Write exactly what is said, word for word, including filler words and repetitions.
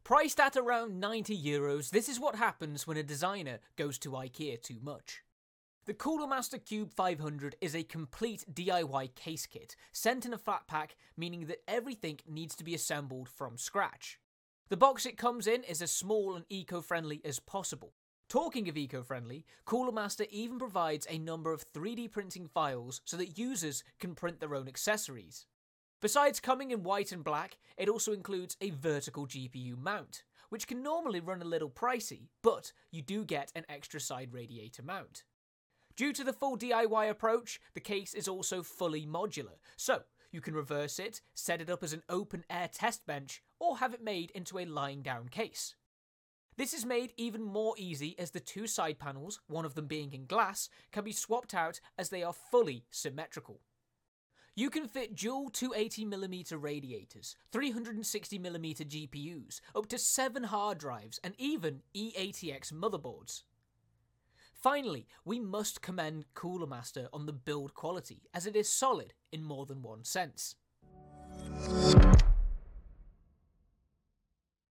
Priced at around ninety euros, this is what happens when a designer goes to IKEA too much. The Cooler Master Cube five hundred is a complete D I Y case kit, sent in a flat pack, meaning that everything needs to be assembled from scratch. The box it comes in is as small and eco-friendly as possible. Talking of eco-friendly, Cooler Master even provides a number of three D printing files so that users can print their own accessories. Besides coming in white and black, it also includes a vertical G P U mount, which can normally run a little pricey, but you do get an extra side radiator mount. Due to the full D I Y approach, the case is also fully modular, so you can reverse it, set it up as an open-air test bench, or have it made into a lying-down case. This is made even more easy as the two side panels, one of them being in glass, can be swapped out as they are fully symmetrical. You can fit dual two hundred eighty millimeter radiators, three hundred sixty millimeter G P Us, up to seven hard drives, and even E A T X motherboards. Finally, we must commend Cooler Master on the build quality, as it is solid in more than one sense.